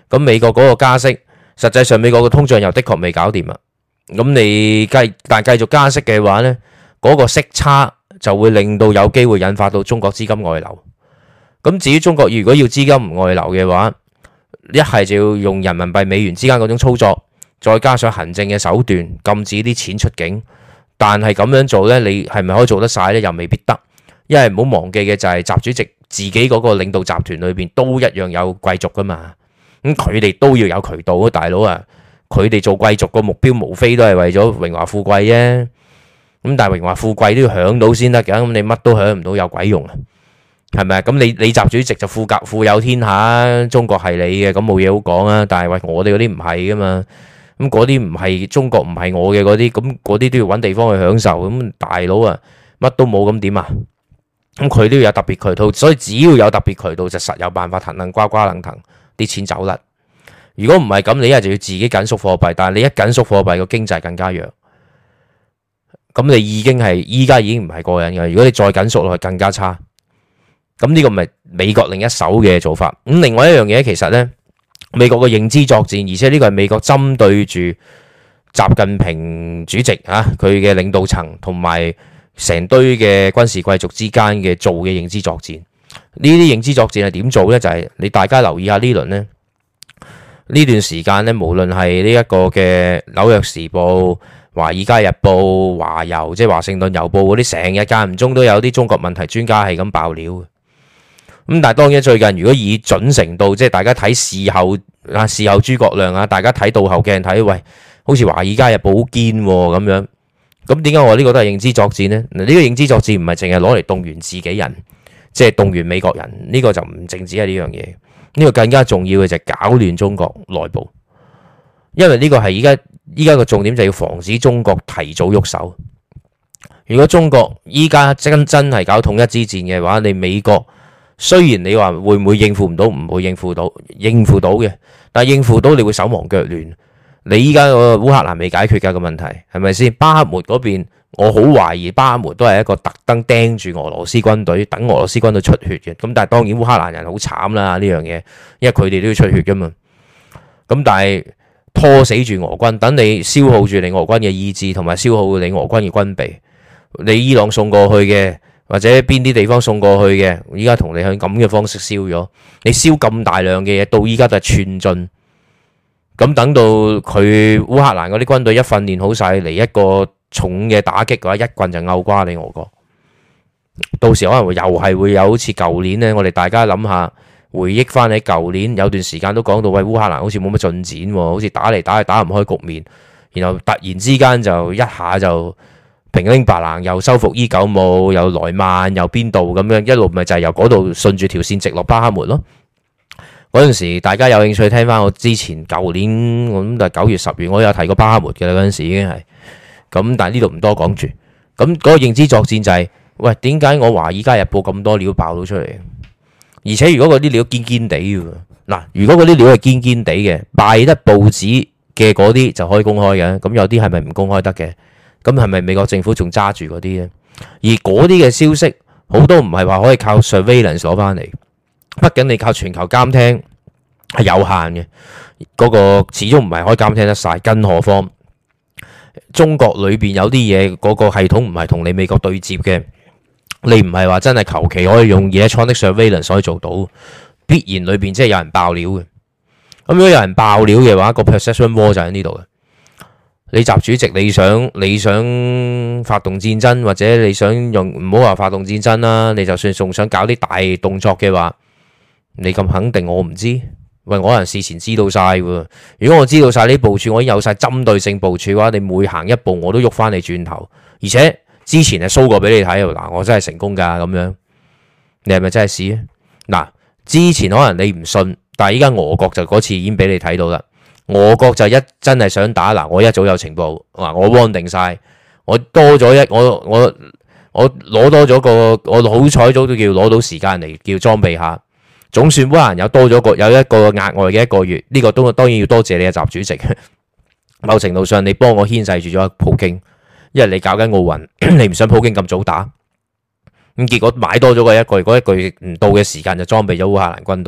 咁美國嗰個加息，實際上美國嘅通脹又的確未搞掂啊。咁你繼但繼續加息嘅話呢，嗰、嗰個息差就會令到有機會引發到中國資金外流。咁至於中國如果要資金唔外流嘅話，一係就要用人民幣美元之間嗰種操作，再加上行政嘅手段禁止啲錢出境。但係咁樣做呢，你係咪可以做得晒呢？又未必得。因為唔好忘記嘅就係習主席自己嗰個領導集團裏邊都一樣有貴族噶嘛。咁佢哋都要有渠道啊，大佬啊！佢哋做貴族個目標無非都係為咗榮華富貴啫。咁但係榮華富貴都要享到先得嘅，咁你乜都享唔到有鬼用啊？係咪啊？咁你你習主席就富甲富有天下，中國係你嘅，咁冇嘢好講啊。但係喂，我哋嗰啲唔係噶嘛，咁嗰啲唔係中國唔係我嘅嗰啲，咁嗰啲都要揾地方去享受。咁大佬啊，乜都冇咁點啊？咁佢都要有特別渠道，所以只要有特別渠道就實有辦法騰騰呱呱楞騰啲錢走甩。如果唔係咁，你一係就要自己緊縮貨幣，但係你一緊縮貨幣個經濟更加弱，咁你已經係依家已經唔係過癮嘅。如果你再緊縮落去更加差，咁呢個咪美國另一手嘅做法。咁另外一樣嘢其實呢，美國嘅認知作戰，而且呢個係美國針對住習近平主席啊佢嘅領導層同埋成堆嘅軍事貴族之間嘅做嘅認知作戰。呢啲認知作戰係點做呢？就係、是、你大家留意下呢輪呢。呢段時間咧，無論係呢一個嘅紐約時報、華爾街日報、華郵，即係華盛頓郵報嗰啲，成日間唔中都有啲中國問題專家係咁爆料嘅。咁但係當然最近如果以準程度，即係大家睇事後啊，事後諸葛亮啊，大家睇倒後鏡睇，喂，好似華爾街日報好堅咁樣。咁點解我呢個都係認知作戰呢？嗱，呢個認知作戰唔係淨係攞嚟動員自己人，即係動員美國人，呢個就唔淨止係呢樣嘢。呢個更加重要嘅就係搞亂中國內部，因為呢個係依家依家個重點就係要防止中國提早喐手。如果中國依家真真係搞統一之戰嘅話，你美國雖然你話會唔會應付唔到，唔會應付到，應付到嘅，但係應付到你會手忙腳亂。你依家個烏克蘭未解決㗎個問題，係咪先？巴赫穆嗰邊，我好懷疑巴赫穆都係一個特登盯住俄羅斯軍隊，等俄羅斯軍隊出血嘅。咁但係當然烏克蘭人好慘啦呢樣嘢，因為佢哋都要出血㗎嘛。咁但係拖死住俄軍，等你消耗住你俄軍嘅意志，同埋消耗你俄軍嘅軍備。你伊朗送過去嘅，或者邊啲地方送過去嘅，依家同你向咁嘅方式燒咗。你燒咁大量嘅嘢，到依家都係寸進。咁等到佢烏克蘭嗰啲軍隊一訓練好晒嚟一個重嘅打擊嘅話，一棍就拗瓜你俄國。到時可能會又係會有好似舊年呢，我哋大家諗下，回憶翻起舊年有段時間都講到，喂，烏克蘭好似冇乜進展喎，好似打嚟打去打唔開局面，然後突然之間就一下就平拎白蘭，又收復伊久姆，又萊曼，又邊度咁樣，一路咪就係由嗰度順住條線直落巴赫穆咯。嗰陣時，大家有興趣聽翻我之前舊年，我諗就係九月十月，我有提過巴赫穆嘅啦。嗰陣時已經係咁，但係呢度唔多講住。咁嗰個認知作戰就係，喂，點解我華爾街日報咁多料爆到出嚟？而且如果嗰啲料堅堅地嘅，嗱，如果嗰啲料係堅堅地嘅，敗得報紙嘅嗰啲就可以公開嘅。咁有啲係咪唔公開得嘅？咁係咪美國政府仲揸住嗰啲咧？而嗰啲嘅消息好多唔係話可以靠 surveillance 攞翻嚟。畢竟你靠全球監聽係有限嘅，嗰個始終唔係可以監聽得晒。更何況中國裏邊有啲嘢，嗰個系統唔係同你美國對接嘅，你唔係話真係求其可以用 electronic surveillance 可以做到，必然裏邊即係有人爆料嘅。咁如果有人爆料嘅話，個 perception war 就喺呢度嘅。你習主席你想你想發動戰爭，或者你想用唔好話發動戰爭啦，你就算仲想搞啲大動作嘅話，你咁肯定我唔知？喂，我可能事前知道晒喎。如果我知道晒呢部署，我已經有晒針對性部署嘅話，你每行一步我都喐翻你轉頭，而且之前係 show 過俾你睇，嗱，我真係成功噶咁樣。你係咪真係試啊？嗱，之前可能你唔信，但係依家俄國就嗰次已經俾你睇到啦。俄國就一真係想打，嗱，我一早有情報，嗱，我 warn 定晒，我多咗一我我我攞多咗個，我好彩早都叫攞到時間嚟叫裝備下。總算烏克蘭有多咗個有一個額外嘅一個月，呢個都當然要多謝你嘅習主席。某程度上你幫我牽制住咗普京，因為你搞緊奧運，你唔想普京咁早打，咁結果買多咗個一個月，嗰一個月唔到嘅時間就裝備咗烏克蘭軍隊，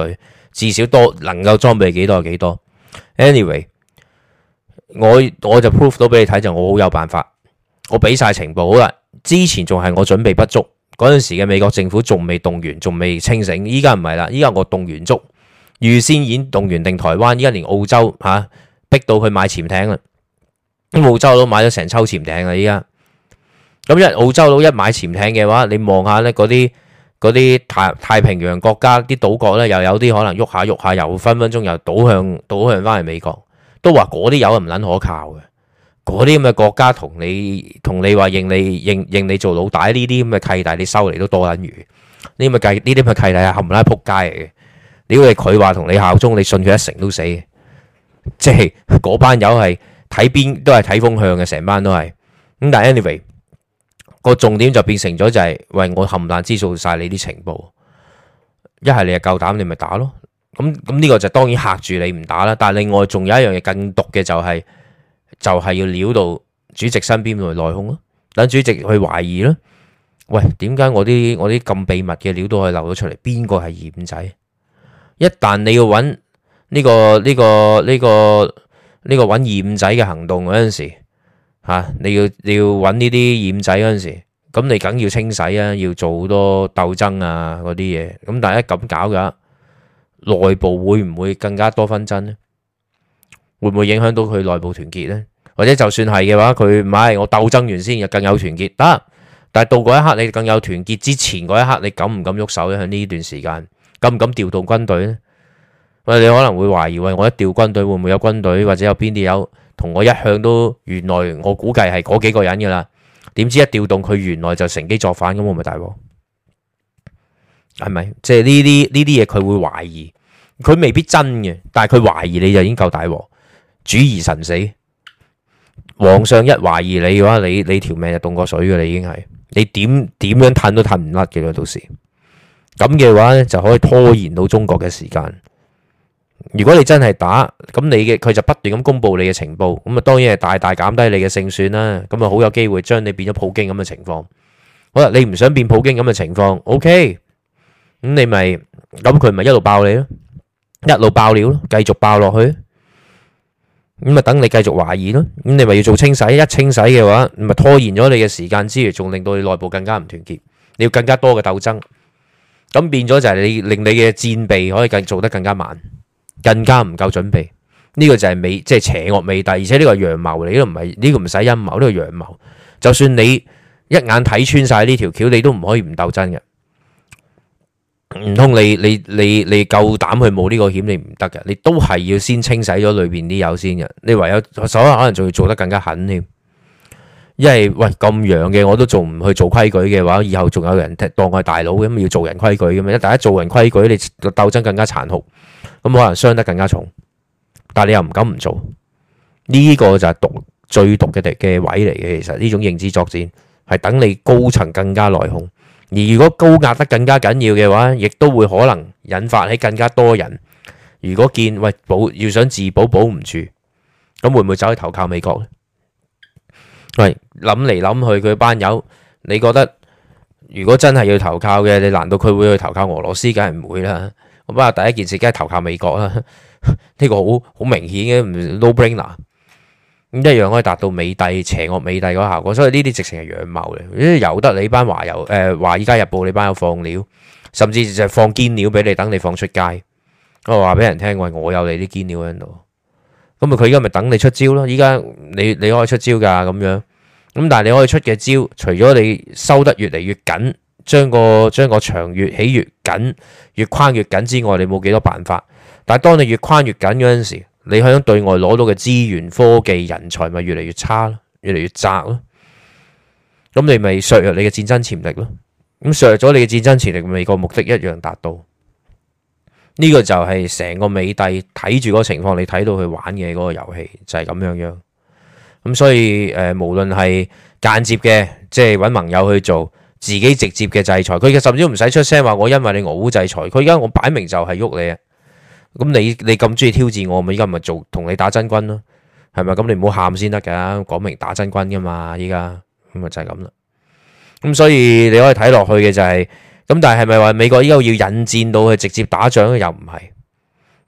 至少多能夠裝備幾多就幾多。Anyway，我我就 prove 到俾你睇就我好有辦法，我俾晒情報好啦。之前仲係我準備不足嗰陣時嘅美國政府仲未動員，仲未清醒。依家唔係啦，依家我動員足，預先已經動員定台灣，依家連澳洲嚇、啊、逼到佢買潛艇啦。咁澳洲佬買咗成抽潛艇啦，依家咁一澳洲佬一買潛艇嘅話，你望下咧嗰啲嗰啲太太平洋國家啲島國咧，又有啲可能喐下喐下，又分分鐘又倒向倒向翻去美國，都話嗰啲友唔撚可靠嘅。嗰啲咁嘅國家同你同你話認你認認你做老大呢啲咁嘅契弟，你收嚟都多撚餘。呢啲咁嘅契呢啲咁嘅契弟係冚唪唥仆街嚟嘅。屌你佢話同你效忠，你信佢一成都死。即係嗰班友係睇邊都係睇風向嘅，成班都係咁。但係 anyway 個重點就變成咗就係、是、喂，我冚唪唥知道晒你啲情報，一係你係夠膽你咪打咯。咁咁呢個就當然嚇住你唔打啦。但係另外仲有一樣嘢更毒嘅就係、是。就係要撩到主席身邊嚟內訌咯，等主席去懷疑咯。喂，點解我啲我啲咁秘密嘅料都可以漏咗出嚟？邊個係二五仔？一旦你要揾呢、呢個呢、呢個呢、呢個呢、呢個揾二五仔嘅行動嗰陣時，嚇、啊、你要你要揾呢啲二五仔嗰陣時，咁你梗要清洗啊，要做好多鬥爭啊嗰啲嘢。咁但係一咁搞嘅，內部會唔會更加多紛爭呢？會唔會影響到佢內部團結呢？或者就算係嘅話，佢唔係我鬥爭完先，又更有團結得。但係到嗰一刻，你更有團結之前嗰一刻，你敢唔敢喐手咧？喺呢段時間，敢唔敢調動軍隊呢？喂，你可能會懷疑，喂，我一調軍隊會唔會有軍隊，或者有邊啲有同我一向都原來我估計係嗰幾個人噶啦？點知一調動佢原來就乘機作反，咁我咪大鑊？係咪？即係呢啲呢啲嘢，佢會懷疑，佢未必真嘅，但係佢懷疑你就已經夠大鑊。主疑神死，皇上一懷疑你嘅話，你你條命就凍過水嘅，你已經係你點點樣褪都褪唔甩嘅啦。到時咁嘅話咧，就可以拖延到中國嘅時間。如果你真係打，咁你嘅佢就不斷咁公布你嘅情報，咁啊當然係大大減低你嘅勝算啦。咁啊好有機會將你變咗普京咁嘅情況。好啦，你唔想變普京咁嘅情況 ，OK，咁你咪咁佢咪一路爆你咯，一路爆料咯，繼續爆落去。咁咪等你繼續懷疑咯，咁你咪要做清洗，一清洗嘅話，咪拖延咗你嘅時間之餘，仲令到你內部更加唔團結，你要更加多嘅鬥爭，咁變咗就係你令你嘅戰備可以更做得更加慢，更加唔夠準備。呢個就係美即係邪惡美帝，而且呢個係陽謀嚟，呢個唔係呢個唔使陰謀，呢個陽謀。就算你一眼睇穿晒呢條橋，你都唔可以唔鬥爭嘅。唔通你你你你夠膽去冒呢個險？你唔得嘅，你都係要先清洗咗裏邊啲友先嘅。你唯有手下可能仲要做得更加狠添，因為喂咁樣嘅我都仲唔去做規矩嘅話，以後仲有人當我係大佬咁，要做人規矩嘅嘛。一大家做人規矩，你鬥爭更加殘酷，咁可能傷得更加重。但係你又唔敢唔做，呢個就係毒最毒嘅嘅位嚟嘅。其實呢種認知作戰係等你高層更加內訌。而如果高壓得更加緊要嘅話，亦都會可能引發起更加多人。如果見喂保要想自保保唔住，咁會唔會走去投靠美國呢？喂，諗嚟諗去佢班友，你覺得如果真係要投靠嘅，你難道佢會去投靠俄羅斯？梗係唔會啦。我不過第一件事梗係投靠美國啦。呢個好好明顯嘅，唔 no brainer。咁一樣可以達到美帝邪惡美帝嗰個效果，所以呢啲直情係陽謀嚟，由得你班華友誒華爾街日報你班友放料，甚至就放堅料俾你，等你放出街。我話俾人聽，喂，我有你啲堅料喺度，咁啊佢而家咪等你出招咯。依家你你可以出招噶咁樣，咁但係你可以出嘅招，除咗你收得越嚟越緊，將個將個牆越起越緊，越框越緊之外，你冇幾多辦法。但係當你越框越緊嗰陣時，你響對外攞到嘅資源、科技、人才咪越嚟越差咯，越嚟越窄咯。咁你咪削弱你嘅戰爭潛力咯。咁削弱咗你嘅戰爭潛力，美國目的一樣達到。呢個就係成個美帝睇住嗰個情況，你睇到佢玩嘅嗰個遊戲就係咁樣樣。咁所以誒，無論係間接嘅，即係揾盟友去做，自己直接嘅制裁，佢甚至都唔使出聲話我因為你俄烏制裁，佢而家我擺明就係喐你啊！咁你你咁中意挑戰我，咪依家咪做同你打真軍咯，係咪？咁你唔好喊先得噶，講明打真軍噶嘛，依家咁啊就係咁啦。咁所以你可以睇落去嘅就係、是，咁但係係咪話美國依家要引戰到去直接打仗咧？又唔係，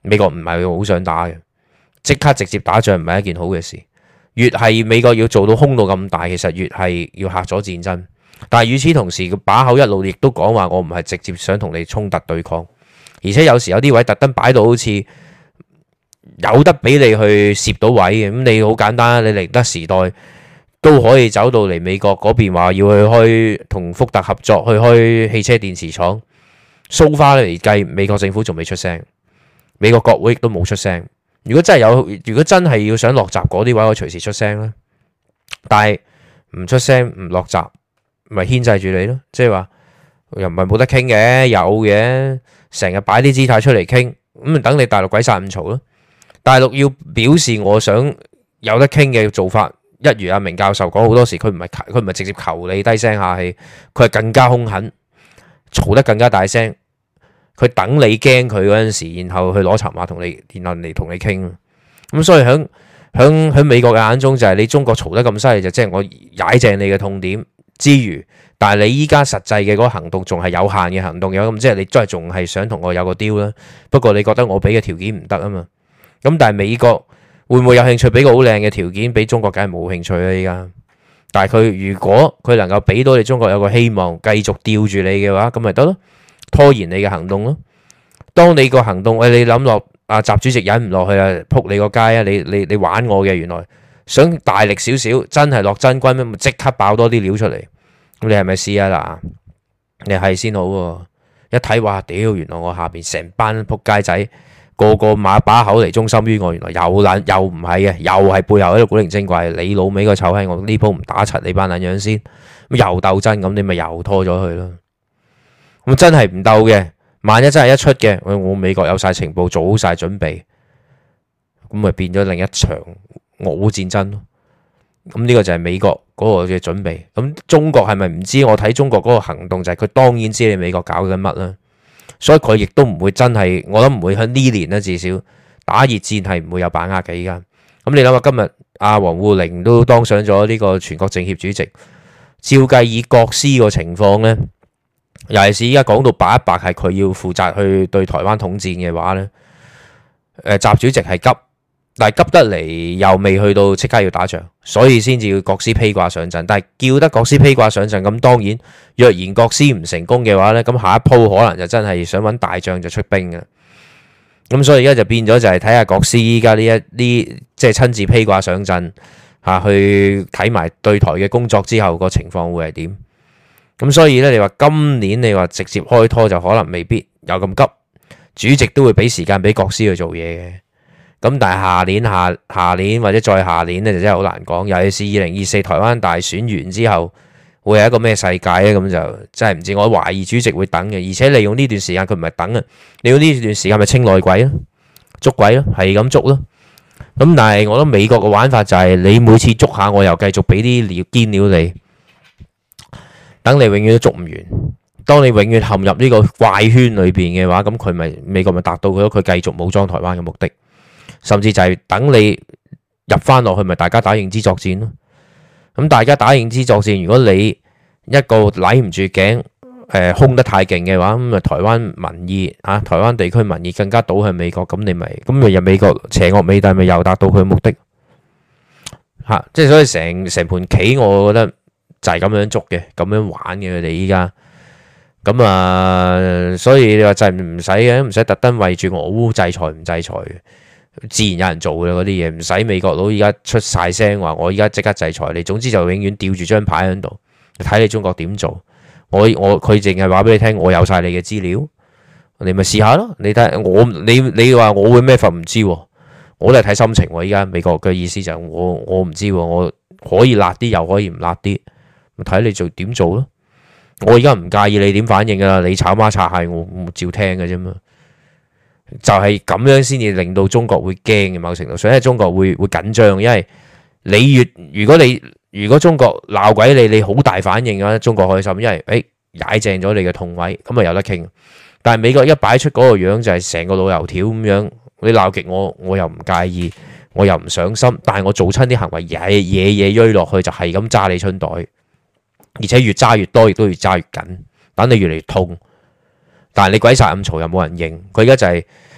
美國唔係好想打嘅，即刻直接打仗唔係一件好嘅事。越係美國要做到空到咁大，其實越係要嚇咗戰爭。但係與此同時，個把口一路亦都講話，我唔係直接想同你衝突對抗，而且有時有啲位特登擺到好似有得俾你去攝到位嘅。咁你好簡單，你寧德時代都可以走到嚟美國嗰邊，話要去開同福特合作去開汽車電池廠。So far 嚟計，美國政府仲未出聲，美國國會亦都冇出聲。如果真係有，如果真係要想落閘嗰啲位，我隨時出聲啦。但係唔出聲唔落閘，咪牽制住你咯。即係話又唔係冇得傾嘅，有嘅，成日擺啲姿態出嚟傾，咁咪等你大陸鬼殺咁嘈咯。大陸要表示我想有得傾嘅做法。一如阿明教授講好多時，佢唔係佢唔係直接求你低聲下氣，佢係更加兇狠，嘈得更加大聲。佢等你驚佢嗰陣時，然後去攞籌碼同你，然後嚟同你傾。咁所以喺喺喺美國嘅眼中就係你中國嘈得咁犀利，就即係我踩正你嘅痛點之餘，但係你依家實際嘅嗰個行動仲係有限嘅行動，有咁即係你都係仲係想同我有個 deal 啦。不過你覺得我俾嘅條件唔得啊嘛？咁但係美國會唔會有興趣俾個好靚嘅條件俾中國？梗係冇興趣啦依家。但係佢如果佢能夠俾到你中國有個希望，繼續吊住你嘅話，咁咪得咯，拖延你嘅行動咯。當你個行動，喂，你諗落阿習主席忍唔落去啊，撲你個街啊！你你你玩我嘅，原來想大力少少，真係落真軍咩？咪即刻爆多啲料出嚟。咁你係咪試啊嗱？你係先好喎。一睇話屌，原來我下邊成班撲街仔。個個馬把口嚟忠心於我，原來又撚又唔係嘅，又係背後喺度古靈精怪。你老味個臭閪，我呢鋪唔打柒你班撚樣先，咁又鬥真咁，你咪又拖咗佢咯。咁真係唔鬥嘅，萬一真係一出嘅，我美國有晒情報，做好晒準備，咁咪變咗另一場俄烏戰爭咯。咁呢個就係美國嗰個嘅準備。咁中國係咪唔知？我睇中國嗰個行動就係佢當然知你美國搞緊乜啦。所以佢亦都唔會真係，我諗唔會喺呢年咧，至少打熱戰係唔會有把握嘅。依家咁你諗下，今日阿王滬寧都當上咗呢個全國政協主席，照計以國師個情況呢，尤其是依家講到白一白係佢要負責去對台灣統戰嘅話呢，誒習主席係急，但係急得嚟又未去到即刻要打仗，所以先至要國師披掛上陣。但係叫得國師披掛上陣，咁當然若然國師唔成功嘅話呢，咁下一鋪可能就真係想揾大將就出兵嘅。咁所以而家就變咗就係睇下國師依家呢一啲即係親自披掛上陣嚇，去睇埋對台嘅工作之後個情況會係點。咁所以呢，你話今年你話直接開拖就可能未必有咁急，主席都會俾時間俾國師去做嘢嘅。咁但係下年下下年或者再下年咧就真係好難講，尤其是二零二四台灣大選完之後會係一個咩世界咧？咁就真係唔知。我懷疑主席會等嘅，而且利用呢段時間佢唔係等啊，利用呢段時間咪清內鬼咯，捉鬼咯，係咁捉咯。咁但係我覺得美國嘅玩法就係你每次捉下我又繼續俾啲料堅料你，等你永遠都捉唔完。當你永遠陷入呢個怪圈裏邊嘅話，咁佢咪美國咪達到佢佢繼續武裝台灣嘅目的。甚至就係等你入翻落去，咪大家打認知作戰咯。咁大家打認知作戰，如果你一個攬唔住頸，誒空得太勁嘅話，咁啊台灣民意啊，台灣地區民意更加倒向美國，咁你咪咁咪入美國邪惡美帝咪又達到佢嘅目的嚇。即係所以成成盤棋，我覺得就係咁樣捉嘅，咁樣玩嘅佢哋依家。咁啊，所以你話就係唔使嘅，唔使特登為住俄烏制裁唔制裁嘅。自然有人做嘅嗰啲嘢，唔使美國佬而家出晒聲話我而家即刻制裁你。總之就永遠吊住張牌喺度，睇你中國點做。我我佢淨係話俾你聽，我有晒你嘅資料，你咪試下咯。你睇我你你話我會咩法唔知，我都係睇心情。而家美國嘅意思就係我我唔知，我可以辣啲又可以唔辣啲，咪睇你做點做咯。我而家唔介意你點反應噶啦，你炒媽擦蟹我我照聽嘅啫嘛。就係咁樣先至令到中國會驚嘅，某程度上，因為中國會會緊張，因為你越如果你如果中國鬧鬼你，你好大反應嘅話，中國開心，因為誒踩正咗你嘅痛位，咁啊有得傾。但係美國一擺出嗰個樣就係成個老油條咁樣，你鬧極我，我又唔介意，我又唔上心，但係我做親啲行為嘢嘢嘢追落去就係咁揸你春袋，而且越揸越多，亦都越揸越緊，等你越嚟越痛。但係你鬼殺咁嘈又冇人應，佢而家就係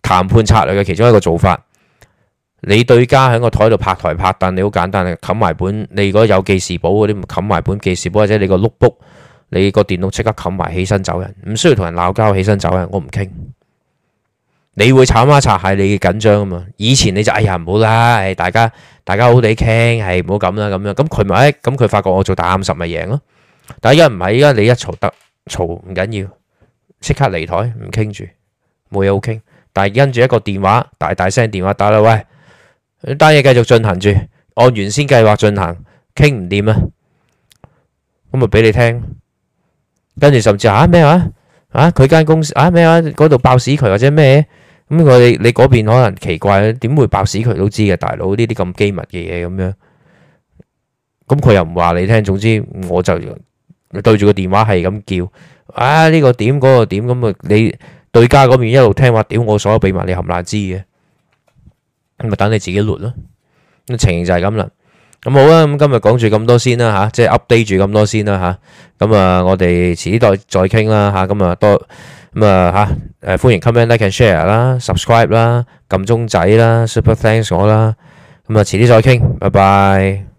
談判策略嘅其中一個做法。你對家喺個台度拍台拍凳，你好簡單嘅，冚埋本。你如果有記事簿嗰啲，咪冚埋本記事簿，或者你個 notebook，你個電腦即刻冚埋，起身走人，唔需要同人鬧交，起身走人，我唔傾。你會炒孖擦係你嘅緊張啊嘛。以前你就哎呀唔好啦，誒大家大家好地傾，係唔好咁啦咁樣。咁佢咪咁佢發覺我做大啱十咪贏咯。但係而家唔係，而家你一嘈得嘈唔緊要，即刻離台唔傾住，冇嘢好傾。但係跟住一個電話大大聲電話打啦，喂，單嘢繼續進行住，按原先計劃進行，傾唔掂啊，咁咪俾你聽。跟住甚至嚇咩話啊？佢間公司啊咩話嗰度爆屎渠或者咩？咁我哋你嗰邊可能奇怪，點會爆屎渠都知嘅，大佬呢啲咁機密嘅嘢咁樣。咁佢又唔話你聽，總之我就對住個電話係咁叫啊呢個點嗰個點咁啊，你對家嗰邊一路聽話，屌我所有秘密你冚唪唥知嘅，咁咪等你自己錄咯。咁情形就係咁啦。咁好啦，咁今日講住咁多先啦嚇，即係 update 住咁多先啦嚇。咁啊，我哋遲啲再再傾啦嚇。咁啊多咁啊嚇誒歡迎 comment like and share 啦 ，subscribe 啦，撳鐘仔啦 ，super thanks 我啦。咁啊遲啲再傾，拜拜。